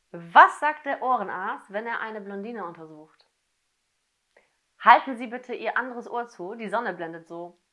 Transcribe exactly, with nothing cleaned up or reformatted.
Was sagt der Ohrenarzt, wenn er eine Blondine untersucht? Halten Sie bitte Ihr anderes Ohr zu, die Sonne blendet so.